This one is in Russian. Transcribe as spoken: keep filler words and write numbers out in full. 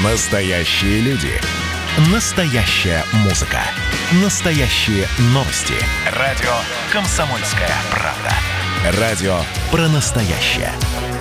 Настоящие люди. Настоящая музыка. Настоящие новости. Радио «Комсомольская правда». Радио про настоящее.